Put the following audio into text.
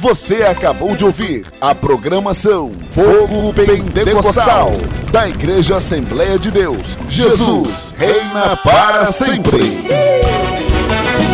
Você acabou de ouvir a programação Fogo Pentecostal da Igreja Assembleia de Deus. Jesus reina para sempre.